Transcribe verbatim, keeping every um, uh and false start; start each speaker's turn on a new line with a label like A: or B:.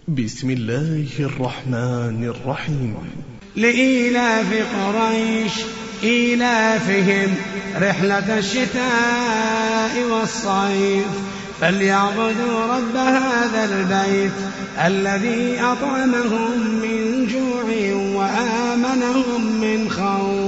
A: بسم الله الرحمن الرحيم.
B: لإيلاف قريش إيلافهم رحلة الشتاء والصيف فليعبدوا رب هذا البيت الذي أطعمهم من جوع وآمنهم من خوف.